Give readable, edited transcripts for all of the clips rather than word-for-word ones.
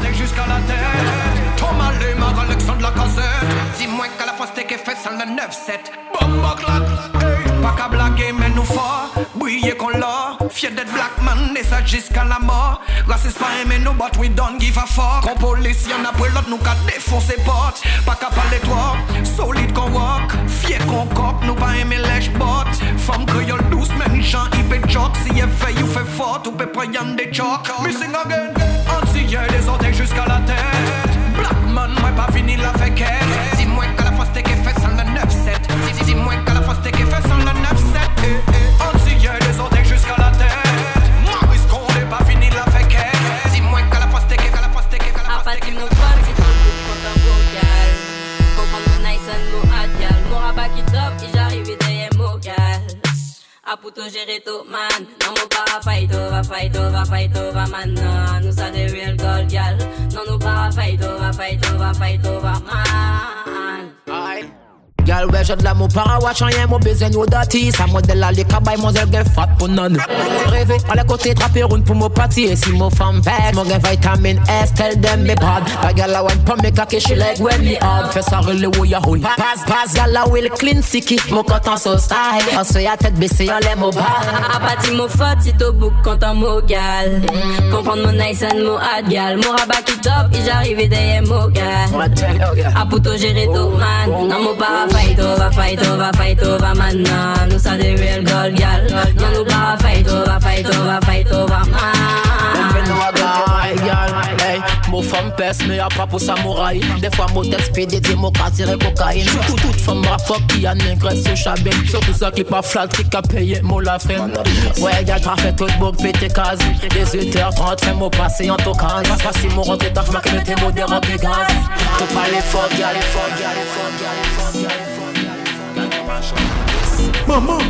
orteils jusqu'à la tête. Thomas Lemar, Alexandre Lacazette. Dis-moi qu'à la fois c'était qu'elle fait sans le 9-7. Bomba claque, hey. Pas qu'à blaguer mais nous fort. Briller qu'on l'a. Fier d'être black man et ça jusqu'à la mort. Raciste pas aimé nous but we don't give a fuck. Qu'on police y'en a pour l'autre nous qu'à défoncer porte. Pas qu'à parler toi, solide qu'on walk. Fier qu'on coque, nous pas aimer lèche bot. Femme créole douce, même gens hyper choc. Si y'a fait, you fait fort, ou peut prendre des chocs. Missing again, anti-hier des orteils jusqu'à la tête. Black man, moi pas fini la féquette. Dis-moi qu'à la fois c'était qu'elle fait sans le 9-7. Dis-moi qu'à la fois c'était qu'elle fait sans le 9-7. Anti-hier des orteils jusqu'à la tête. Maurice Condé pas fini la féquette. Dis-moi qu'à la fois c'était qu'elle, qu'à la fois c'était qu'elle, qu'à la fois c'était qu'elle. A puto gérer tout man. Non nous para fight over man. Nous ça des real gold gal. Non nous para fight over man. Aye. Girl, ouais, j'ai de l'amour para watch rien, mon baiser nous d'artiste. Ça modèle la les cabaye, mon zèle gay fat pour non. Rêver, à la côté, trapper une pour mon party. Et si mon femme bête, mon gay vitamine S, tell them me bad. La gal la one pour me kake, she like when me hard. Fais ça relé où y'a hole. Pass, gal la will clean sicky. Mon content so style. On se y'a tête baissée, on l'aime au bar. A partir mon fat, si t'au book, content mon gal. Comprendre mon nice and mon hard gal. Mon rabat qui top, et j'arrive derrière mon gal. A puto gérer tout man. Non mon para fight over man. Nous ça des real gold gal. Non nous para fight over man. Mon femme pèse mais y'a pas pour samouraï. Des fois mon texte pédé, des mots qu'à tirer cocaïne. Toute femme ma fuck qui a négresse sur chabin. Surtout ça qui pas flat, qui a payé mon la frème. Ouais y'a t'as fait tout beau pété case. 18h30 fait mon passé en tout cas. Pas si mon rentré t'as fait que t'es modérant que gaz. Faut pas les fuck, y'a les fuck. Mama.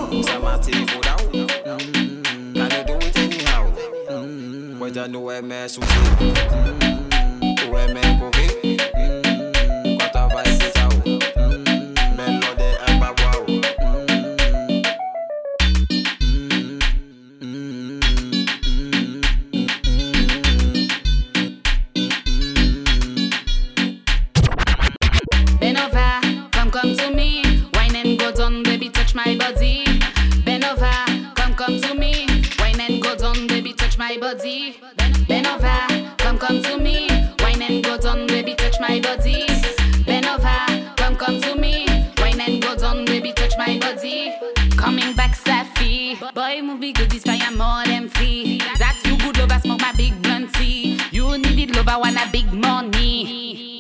Ya no me sufrí, no me cogí, cuántas veces chao, me lo de abaguao. Bend over, come to me, wine and go down, baby touch my body. Bend over, come to me, wine and go down, baby touch my body. Bend over, come to me, wine and go down, baby touch my body. Bend over, come to me, wine and go down, baby touch my body. Coming back Safi, boy move be good, this fire more than free. That you good love, I smoke my big blunt tea. You need it love, I want a big money.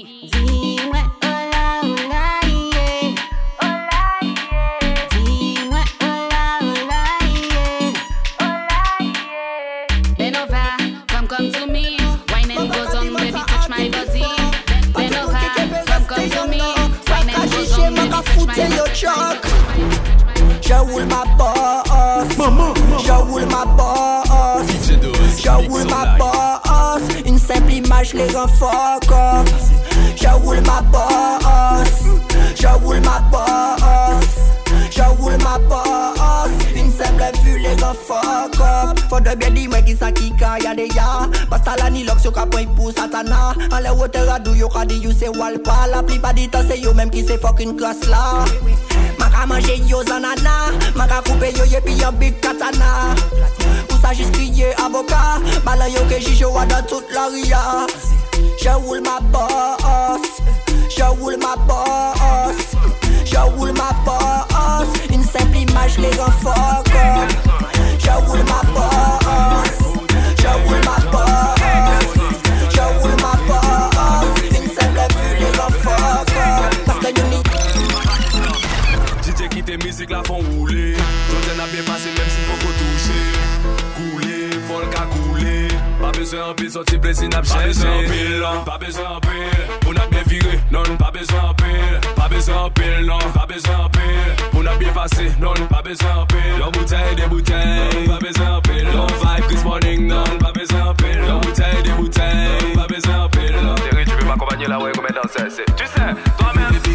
Je roule ma bosse, je roule ma bosse, je roule ma bosse. Une simple image les rend fuck up. Je roule ma bosse, je roule ma bosse, je roule ma bosse. Une simple vue les rend fuck up. Faut de bien dire moi qui ça qui quand y'a des ya. Parce que la ni l'ox yo ka point pour satana. En les hauteur à dou yo ka di you c'est walpa. La plupart du temps c'est yo même qui c'est fucking classe là. Maka manger yo zanana, maka couper yo yepi yon big katana. Pour ça juste crier avocat, balan yo que jijo wa dans toute la ria. Je roule ma bosse, je roule ma bosse, je roule ma bosse. Une simple image les rend fuck up. Je roule ma bosse, je roule ma bosse, je roule ma bosse. Une simple vue les rend fuck up. Parce que you need qui tes musiques la font rouler. Tout n'a bien passé même si beaucoup touché. Couler, folk à couler. Pas besoin en pile, sorti plaisir n'a pas besoin en pile. Pas besoin en pile, on a bien viré. Non, pas besoin en pile. Pas besoin en pile, non, pas besoin en pile. On a bien passé, non, pas besoin en pile. L'on bouteille, des bouteilles, pas besoin en pile. L'on vibe this morning, non, pas besoin en pile. L'on bouteille, des bouteilles, pas besoin en pile. Chérie, tu peux m'accompagner là, ouais, comme danser, tu sais, toi-même. Bien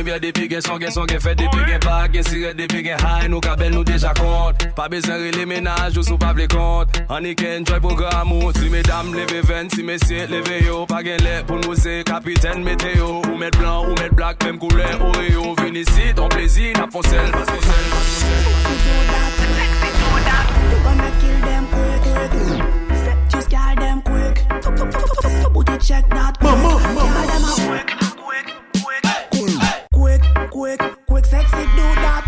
rivière depuis gen son gen fait depuis gen pas gen siré depuis gen high nous kabel nous déjà compte pas besoin de les ménages ou sous pas les compte on y can enjoy programme si mesdames levez 20 si messieurs levez yo pas gen lait pour nous c'est capitaine météo ou mettre blanc ou mettre black même couleur Oreo vini ici ton plaisir n'a pas sel pas sel you gonna kill them quick just kill them quick somebody check that quick kill them quick sexy do that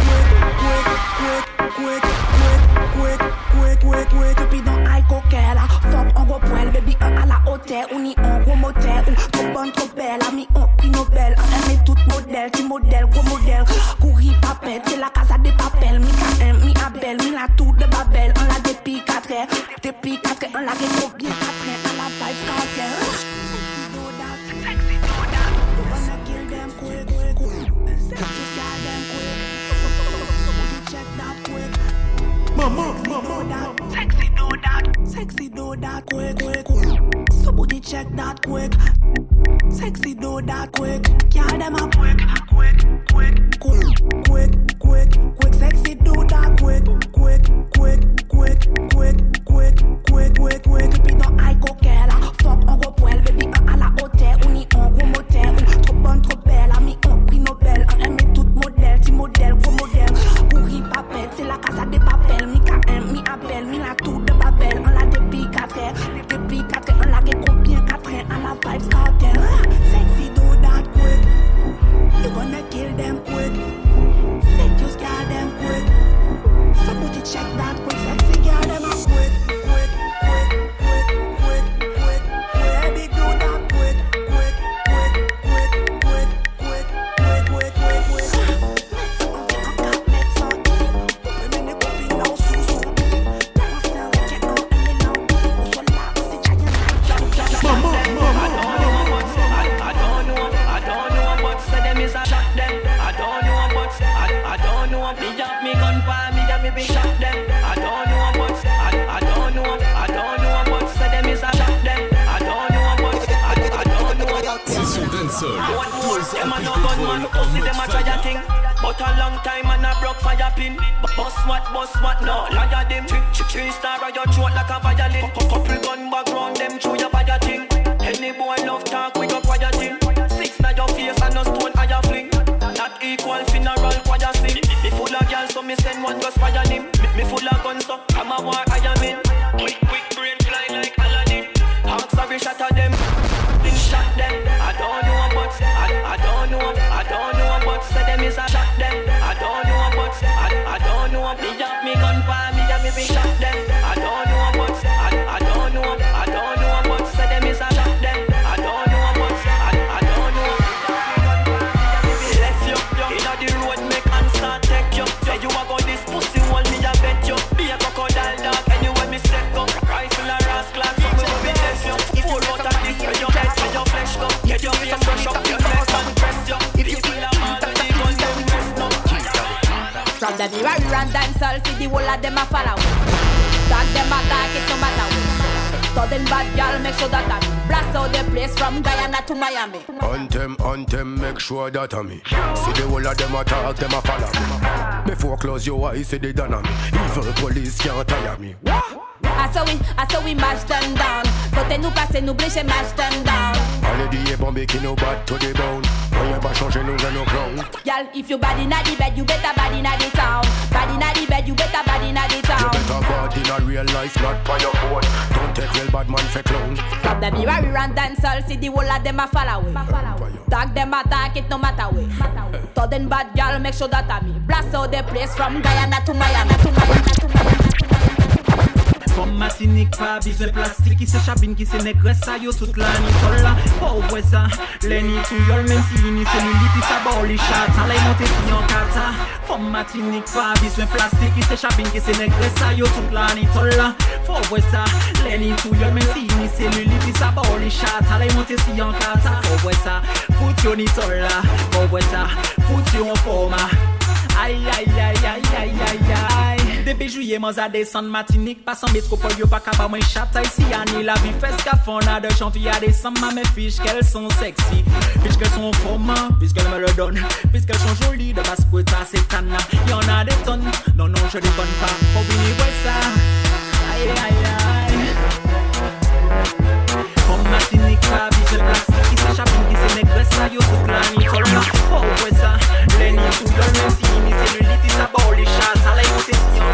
quick puis dans high coquelle fuck on go poil baby à la hôtel on y en gros motel ou trop bonne trop belle ami on prix Nobel on aime tout modèle petit modèle gros modèle courir papette c'est la casa des papels mi KM mi Abel mi la tour de Babel on la depuis 4 heures on la get trop bien 4 heures on la vibe cartel sexy do that wanna kill them quick sexy got them quick check that quick mama sexy do that quick somebody check that quick sexy do that quick kill them up quick sexy do that quick puis dans high coquelle fuck on go poil baby à la hôtel on y en gros motel trop bonne trop belle ami on prix Nobel on aime tout modèle petit modèle gros modèle courir papette c'est la casa des papels mi KM mi Abel mi la tour de Babel on la depuis 4 heures on la get combien 4 heures on la vibes cartel sexy do that quick you gonna kill them quick just kill them quick somebody check that quick sexy girl them up quick baby do that quick But a long time and I broke fire pin. Boss what, no, liar them. Three star on your throat like a violin. Couple gun background them through your fire thing. Any boy love talk, we go quiet thing. 6 na your face and no stone higher fling. Not equal funeral choir sing. Me full of girls so me send one go spy on him. Me full of guns so I'm a war I am in. Quick brain fly like Aladdin. Hawks sorry shot at them. Then shot them. I don't know but I don't know but say them is a shot them. I don't know but I don't know me have me gun pa me have me be shot them. I don't know but I don't know but say them is a shot them. I don't know but I don't know. Left you inna the road make and start take you. Say you a go this pussy hole me a bet you. Be a crocodile dog anywhere me step go. Rifle a rascal so me go be test you. Full out of this when you dead when your flesh go. Get your face brush up your neck and press you. If you kill a man with the gun then press no. From the mirror and dancehall, see the whole of them a follow. Tag them attack it no matter what. Sudden bad girl make sure that I blast out the place from Guyana to Miami. Anthem, make sure that I me. See the whole of them attack, them a follow me. Before close your eyes, see the done on me. Evil police can't tire me. I saw we mash them down. Côté nous passer, nous blécher, mash them down. Allez dis bombé qui nous bat to the bone. Rien pas changer nous dans nos clowns. Y'all, if you bad inna the bed, you better bad inna the town. Bad inna the bed, you better bad inna the town. You better bad inna real life, not by your phone. Don't take real bad man for clown. From the mirror we run dancehall, see the whole of them a follow away. Tag them attack it no matter way. Sudden bad girl make sure that I me blast out the place from Guyana to Miami. Comme Martinique, pas besoin plastique, qui se chabine, qui se négresse, ça yo toute la nuit, tolla. Oh, ouais, ça, les nids tout yol, même si l'ini cellulite, ça bord les chats, allez monter si yon kata. Comme Martinique, pas besoin plastique, qui se chabine, qui se négresse, ça yo toute la nuit, tolla. Oh, ouais, ça, les nids tout yol, même si l'ini cellulite, ça bord les chats, allez monter si yon kata. Oh, ouais, ça, fout yon ni tolla. Oh, ouais, ça, fout yon format. Aïe, aïe, aïe, aïe, aïe, aïe, aïe. Depuis juillet, moi à descendre Martinique, passe en métropole, yo pas capable moins chata ici. Annie la vie fait ce qu'a fond, a de janvier à décembre, mes fiches qu'elles sont sexy, fiches qu'elles sont formants, puisqu'elles me le donnent, puisqu'elles sont jolies, de basse pour c'est tana. Y'en a des tonnes, non, je déconne pas, faut venir voir ça. Aïe, aïe, aïe. Comme Martinique, pas bise plastique, qui s'échappe, qui se négresse, ça yo toute la nuit, tout le monde, faut voir ça. Les nids tout le même si, ni cellulite, ça bord les chats, ça l'a écouté,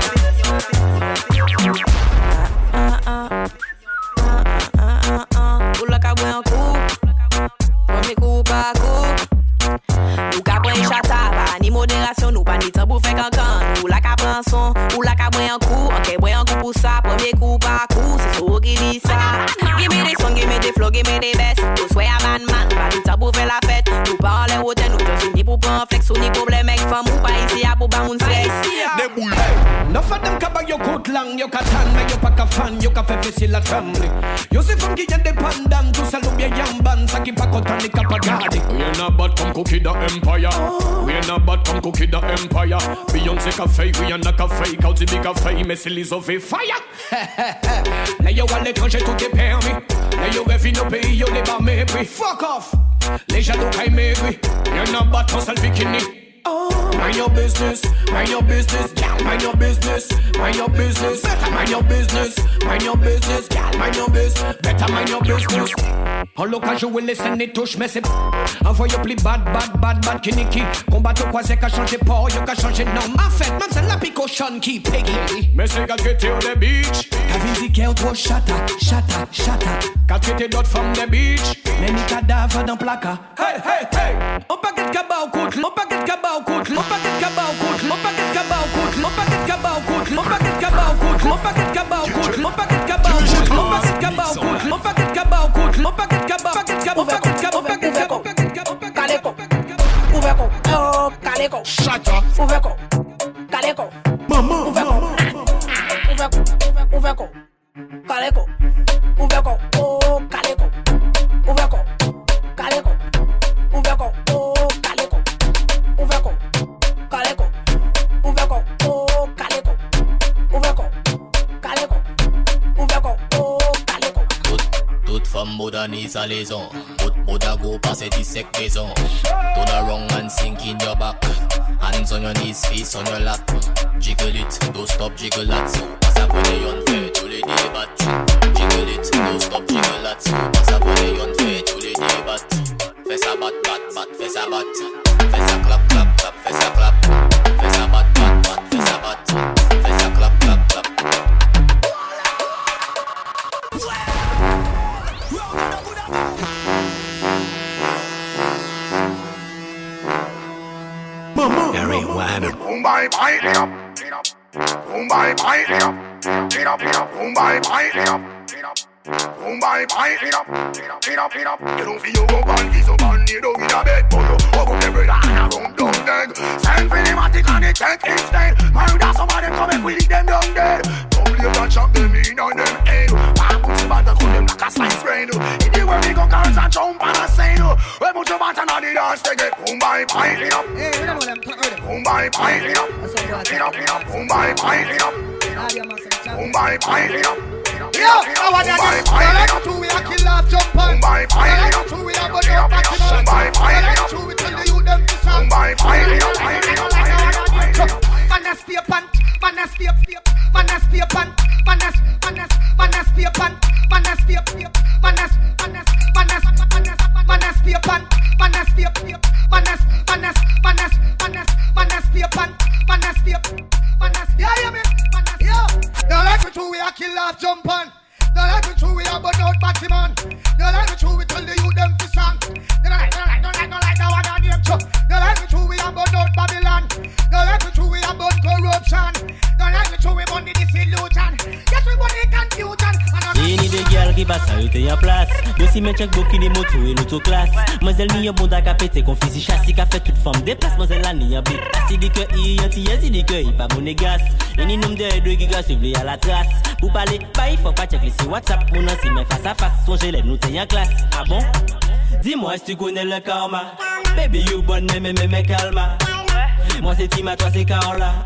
Ou la ka bwen kou, premier coup par coup. Ou ka bwen chata, pa ni modération, nou pa ni temps pour faire cancan. Ou la ka prend son, ou la ka bwen kou, ok bwen kou pour ça, premier coup par coup, c'est so qui dit ça. Give me des sons, give me des flows, give me des best. Ou soit ya man, pas ni temps pour faire la fête. Nou pa en les hôtels, nou just ni pour prendre flex, ou ni problème avec femme, ou pas ici à pour ba moun sex. No for them ka bag yo coat lang, yo ka tan, mais yo pa ka fan, yo ka fait facile la tremble. Yo c'est femme qui indépendant, tout ça l'oublie yamban, ça qui pa content ni ka pa garder. We ain't not bad comme cookie the empire. We ain't not bad comme cookie the empire. Beyoncé ka fake, we ain't not ka fake. Out the big ka fake, mais c'est les of fire. Là yo à l'étranger tout est permis. Là yo rêve nos pays, yo les bas mépris. Fuck off, les jaloux kay maigri. We ain't not bad comme sale bikini. Mind your business, mind your business, gal, mind your business, mind your business, better mind your business, mind your business, gal, mind your business, better mind your business. En local je will listen et touche mais c'est envoyez plus bad kiniki. Combat au croisé qu'a changé port, yo qu'a changé nom. En fait, même c'est la picochon qui peggy. Mais c'est qu'à traiter on the beach. Qu'a visité au trop chata. Qu'à traiter d'autres femmes the beach. Mais ni cadavre dans placard. Hey. On paquet de cabas au couple, on paquet de cabas au couple, on paquet de cabas au couple, on paquet de cabas au couple, on paquet de cabas au couple, on paquet de cabas au couple, on paquet de cabas au couple, on paquet de cabas au couple, on paquet de cabas au couple, on paquet de cabas au couple, on paquet de cabas, paquet de cabas, on paquet de cabas, paquet de cabas, paquet de cabas, Caleco, Ouverco, oh Caleco, Shata, Ouverco, Caleco, Mama, Ouverco, Caleco, Ouverco, oh Caleco, Ouverco, Caleco, Ouverco, oh Caleco, Ouverco, Caleco, Ouverco, oh Caleco, Ouverco, Caleco, Ouverco, oh Caleco. Toute femme modernise à l'aison. Toute modago passe tes sec maison. Turn around and sink in your back. Hands on your knees, face on your lap. Jiggle it, don't stop, jiggle that. Passe à côté, on fait tous les débats. Jiggle it, don't stop, jiggle that. Passe à côté, on fait tous les débats. Fais ça bat, fais ça bat. Fais ça clap, fais ça clap. Fais ça bat, fais ça bat. Fais ça clap. Gary Wham. Mumbai, pipe it up. Mumbai, pipe it up. Mumbai, pipe it up. Mumbai, pipe it up. You don't feel go band, he's a band, you don't get a bed, but you walk up every line around down dead. Send for the matic and it take instead. Murder some of them come and we leave them down dead. Don't play that chop them in on them head. Why put some bad to them like a slice brain? In the world we go cars and jump and a say no. We put your bat and on the dance they get Mumbai, pipe it up. Mumbai, pipe it up. Mumbai, pipe it up. Mumbai, pipe it up. Yo, I want to like two we a kill off jump on. I like two we a go down back to man. I like two we tell the youth them to song. Man a stay pan, man a stay pan, man a stay pan, man a stay pan, man a stay pan, man a stay pan, man a stay yeah, me. Yo, don't like me two we a kill off jump on. Don't like me two we a burn out batty man. Don't like me two we tell the youth them to song. Don't like that one on them chop. Don't like me two we a burn out Babylon. Don't like me two we a burn corruption. Don't like me two we burn the disillusion. Yes we burn the confusion. Et ni des gars qui passent à eux en place. Yo si men check beaucoup des motos et l'autoclasse. Mademoiselle ni un bon da ka pété qu'on physique chassis qu'a fait toute forme déplace. Mademoiselle la ni un big. Assis dit que il dit que il pas monégas. Et ni nombre de deux gigas suivre à la trace. Pour parler, bah il faut pas checker sur WhatsApp. Mon ancien mais face à face, son élève nous t'es en classe. Ah bon? Dis-moi si tu connais le karma. Baby you bonne mais calma. Moi c'est Tima, toi c'est Carla.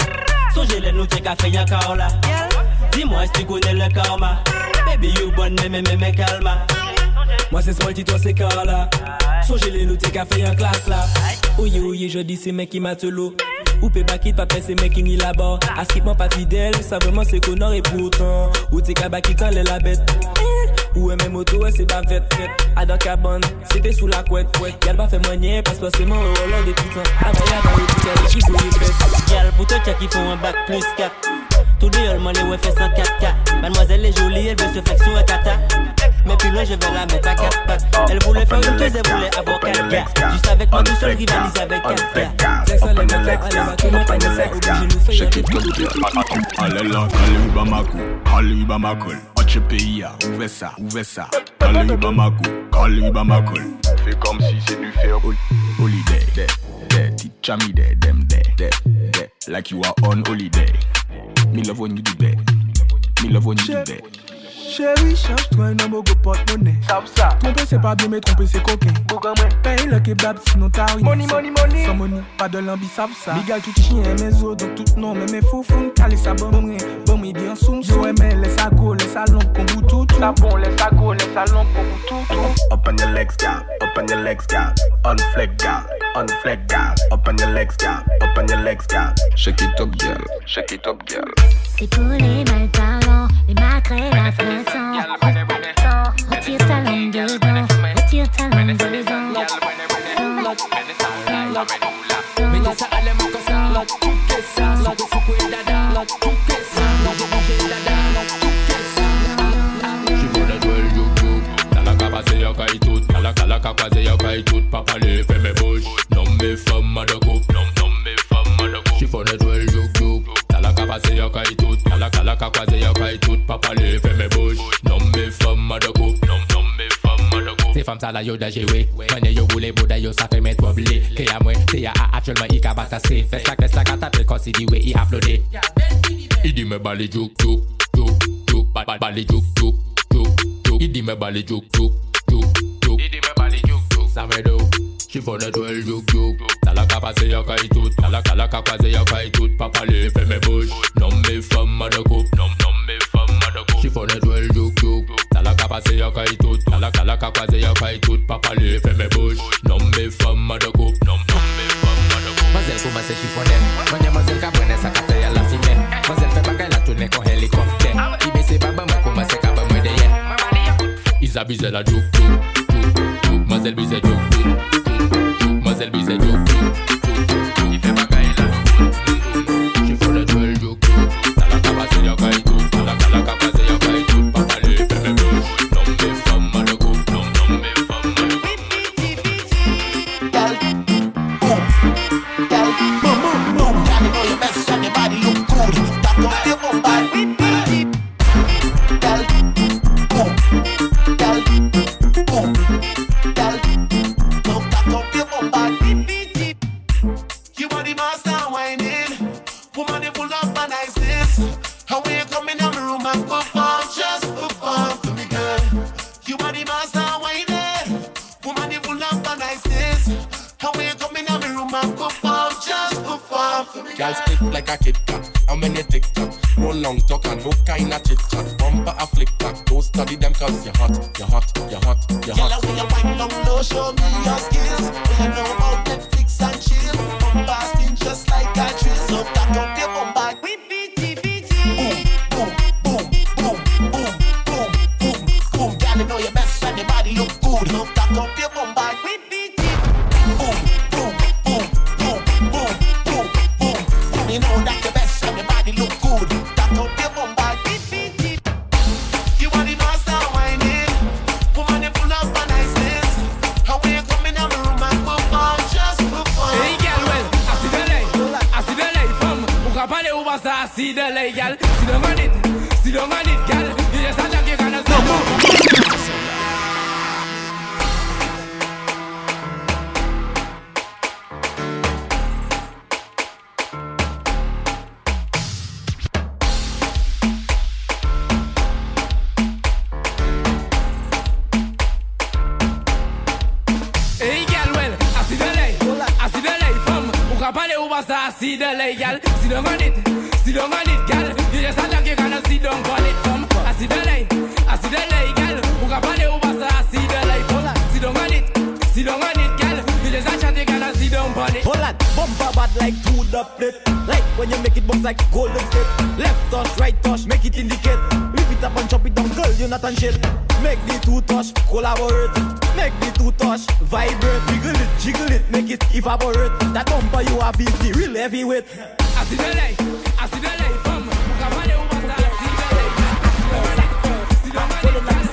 Songez-les nous t'es qu'à faire encore là. Dis-moi si tu connais le karma. Baby you bonne mais calma. Moi c'est Smolty, toi c'est Carla. Songez-les nous t'es qu'à faire en classe là. Ouye je dis c'est mec qui m'a l'eau. Ou peut bakit pas c'est mec qui ni là-bas. Askipement pas fidèle, ça vraiment c'est connard et pourtant. Ou t'es qu'à bakit quand la bête. Ou même moto c'est pas fête. À dans cabane, c'était sous la couette. Y'all pas fait moyen, passe pas seulement au Hollande des putains. Avaya dans le putain, qui bouille les fesses. Y'all pour toi qui font un bac plus 4. Tout deux y'all m'en ouais fait 104K. Mademoiselle est jolie, elle veut se faire sur un kata. Mais puis là je vais la mettre à 4 pattes. Elle voulait faire une chose, elle voulait avoir 4 gars. Juste avec moi tout seul rivalise avec 4 gars. Laisse les mettre là, allez va tout le monde pas ça. Obligé nous faire allez là, allez Bamako, allez Bamako. Autre pays à, ouvre ça. Allez Bamako. Fais comme si c'est du fer. Holiday, teach me them like you are on holiday. Me love when you do that. Chérie, change-toi un homme au porte-monnaie. Tromper c'est pas bien mais tromper c'est coquin. Paye le kebab sinon t'as rien. Money. Sans money, pas de l'ambi, savent ça. Bigal tout chien, mes os, donc tout non, mais mes fous fous. Calé ça bon bien soum. Yo aimé, laisse ça go, laisse ça long, qu'on bout tout. Ça bon, laisse ça go, laisse ça long, qu'on bout tout. Up on your legs, gal. Unflex, gal. Up on your legs, gal. Shake it up, gal. C'est pour les mal parlants, les maquerelles à plein temps. Retire ta langue dedans. Papa les fait mes bouches. Non mes femmes à de coupe. Chiffonnet ou el jouk. T'as la capacité y'a caille tout. T'as la capacité y'a caille tout. Papa les fait mes bouches. Non mes femmes à de coupe. Ces femmes ça la yo da joué. Mane yo boule bouda yo ça fait mettre oublié. Que y'a moi, c'est y'a actuellement i ka batassé. Fais la catapelle quand si dit ouais i applaudé. Il dit me balé jouk. Balé jouk. Il dit me balé jouk. Ça me do. Chiffonnet ou el jouk. T'as la capacité y'a caille tout. T'as la capacité y'a caille tout. Papa les fait mes bouches. Non mes femmes à de coupe. Chiffonnet ou el jouk. T'as la capacité y'a caille tout. T'as la capacité y'a caille tout. Papa les fait mes bouches. Non mes femmes à de coupe. Mazel comment c'est chiffonnet. Mademoiselle Cabane ça capte y'a la fumée. Mazel fait bagaille la tourner con hélicoptère. Il baisse baba moi comment c'est cabane moi derrière. Ils abusent la jouk. Mazel bise jouk. Il fait bagaille la chiffonnet ou el jouk. T'as la capacité y'a caille tout. T'as la capacité y'a caille tout. Papa les fait mes bouches. Non mes femmes à de coupe. Girl spit like a Kit Kat. How many TikTok? No long talk and no kind of chit chat. Bumper a flick back. Don't study them cause you're hot. Girl, when you wind down low, show me your skills. When you know about Netflix and chill. Bumper spin just like a drill. So back up your bumper. Boom. Girl, you know your best and your body look good. So back up your bumper. You know that the best and your body look good. Back up your bumper. You are the master whining. Woman, you full of niceness. How when you come in my room and perform, just perform. Hey girl, well, I see the lay, femme. Ou ka pale ou basta, I see the lay, girl. Sit down on it, girl. You just stand up, you gonna say no. I see the lay, girl. Sit down on it, sit down on it, girl. You just a you gonna sit down on it, come. I see the light, girl. Who can party over, I see the light. Sit down on it, sit down on it, girl. You just a you gonna sit down on it. Hold on, bumper bad like to the plate. Like when you make it bounce like golden state. Left touch, right touch, make it indicate. Lift it up and chop it down, girl, you're not on shit. Make the two touch, collaborate. Make the two touch, vibrate. Jiggle it, make it evaporate. That bumper you have is the real heavyweight. I see the light, fam. Who can party over, I see the light. Sit down on it, girl.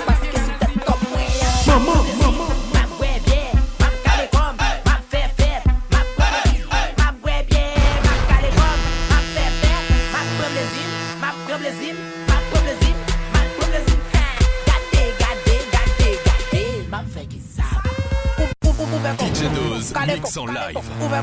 DJ Dose, mix en live.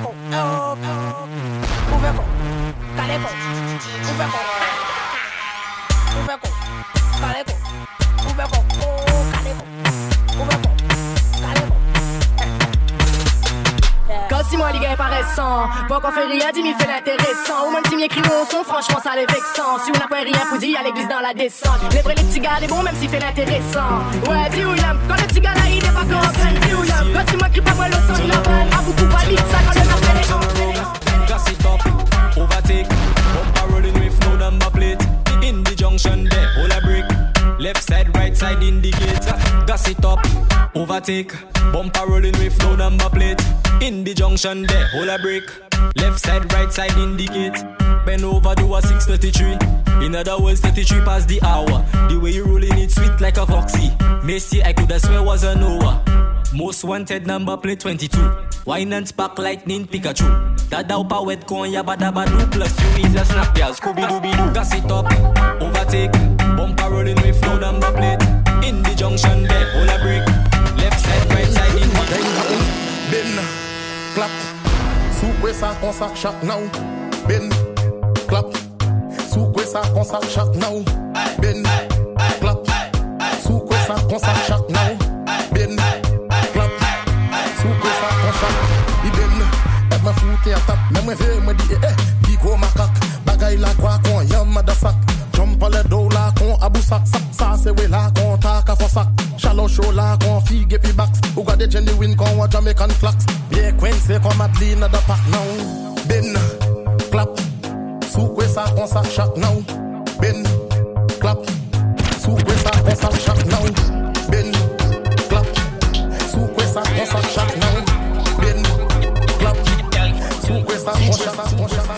Quand si moi les gars paraissant, pas qu'on fait rien, dis-moi fait l'intéressant. Ou même si m'y écrit au son, franchement ça les vexant. Si on n'a pas rien pour dire, à l'église dans la descente. Les vrais les petits gars, les bons même s'il fait l'intéressant. Ouais, dis où y'aime, quand le petit gars là il est pas comme un dis où y'aime. Quand si moi crie pas moi le sang, il a mal. A beaucoup valide ça quand le appelle les gens. Gas it up, overtake. Bumper rolling with no number plate. In the junction there, hold a break. Left side, right side indicate. Gas it up, overtake. Bumper rolling with no number plate. In the junction there, hold a break. Left side, right side indicate. Bend over, do a 633. In other words, 33 past the hour. The way you rolling it sweet like a foxy. Messi, I coulda swear was a Noah. Most wanted number plate 22. Wine and spark lightning Pikachu. Dada upa wet con ya badabadu. Plus you is a snap ya Scooby-Dooby-Doo. Gas it up, overtake. Bumper rolling with no number plate. In the junction there, hold a break. Left side, right side in the Ben, clap. Soukwe sa kon sak chak now. Ben, clap. Soukwe sa kon sak chak now. Ben, clap. Soukwe sa kon sak chak now. Ben, clap. Soukwe sa kon chak. I ben, me foute a tap. Me ve me di Pico makak. Bagay la kwa kon yam madasak. Jump a le do la kon abousak. Sak sa se we la kon taka fosak. Shallow show la kon fige pi backs. Ou gade genuine kon wa Jamaican flax. Bien Quincy kon Madeleine da pak now. Ben, clap. Soukwe sa kon sak chak now. Ben, clap. Soukwe sa kon sak chak now. Ben, clap. Soukwe sa kon sak chak now. Ben, clap. Soukwe sa kon sak chak.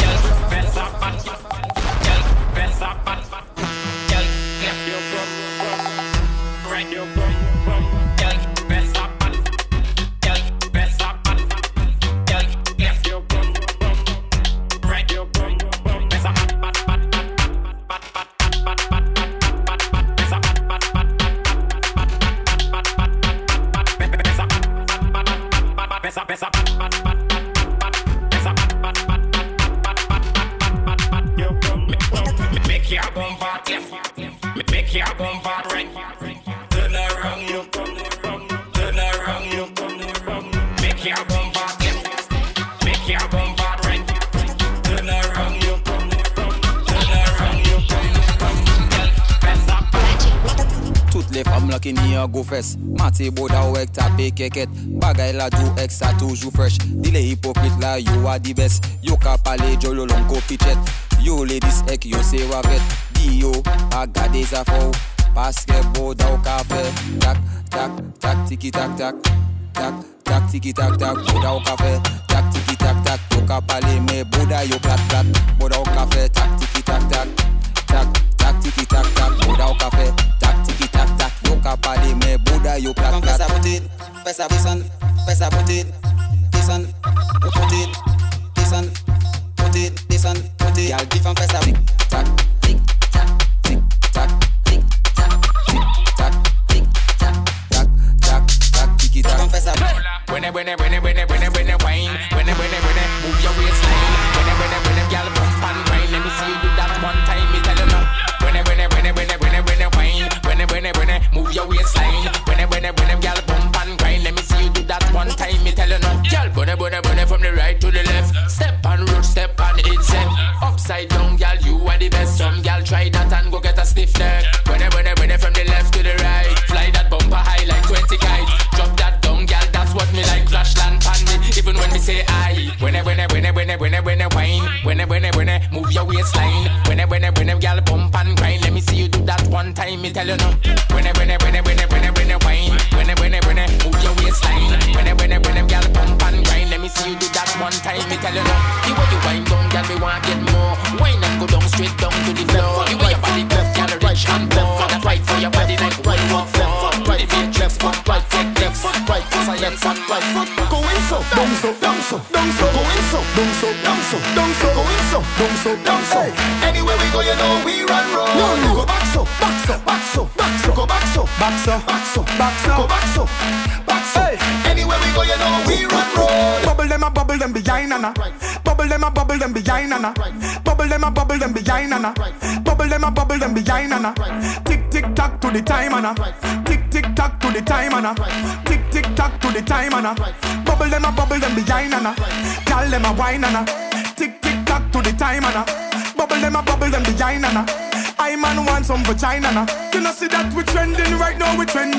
Qui n'y a go fess. Mati boda ou ek tape keket. Bagay la do ek sa toujou fresh. Dile hypocrite la you are the best. Yo ka pale jolo long ko pichet. Yo ladies ek yo se wavet. Di yo a gade zafou. Paske boda ou ka fe. Tak tak tak tiki tak tak. Tak tak tiki tak tak. Boda ou ka fe. Tak tiki tak tak. Yo ka pale me boda yo plat plat. Boda ou ka fe. Tak tiki tak tak. Tak tak tiki tak tak. Boda ou ka fe. Tak tiki tak tak. Yo ka pale me boda yo plat plat. Pesa put it, pesa pisan, pesa put it, pisan, put it, pisan, put it, pisan, put it. Y'all different pesa tick tack, tick tack, tick tack, tick tack, tick tack, tick tack, tack tack tack, tiki tack. When it wine, when it move your waistline. When it y'all bump and grind. Let me see you do that one time. Me tell you now. When it wine, when it move your waistline. When it y'all bump and grind. Let me see you do that one time. Me tell you now. Y'all burn it from the right to the left. Step on road, step on it, step upside down. try that and go get a stiff neck. When it from the left to the right. Fly that bumper high like 20 kites. Drop that down, gal, that's what me like. Flash land pan me, even when me say aye. When it wine. When it move your waistline. When it gal bump and grind. Let me see you do that one time, me tell you no. When it wine. When it move your waistline. When it gal bump and grind. Let me see you do that one time, me tell you no. The way you wind down, gal, me want get more. Wine and go down straight down to the floor. The way your body left, gal, rich and poor. That right for your body like right walk left, right foot left foot, right foot left foot, right foot science and right foot. Go in so, down so, down so, down so, go in so, down so, down so, down so, go in so, down so, down so. Anywhere we go, you know we run roll. No, go back so, back so, back so, back so, go back so, back so, back so, back so, go back so, back so. Anywhere we go, you know we run roll. Bubble them behind Nana. Bubble them behind Nana. Bubble them behind Nana. Bubble them behind Nana. Tick tick tock to the time Nana. Tick tick tock to the time Nana. Tick tick tock to the time Nana. Bubble them behind Nana. Call them a wine Nana. Tick tick tock to the time Nana. Bubble them behind Nana. I man want some vagina Nana. You know see that we trending right now, we trending.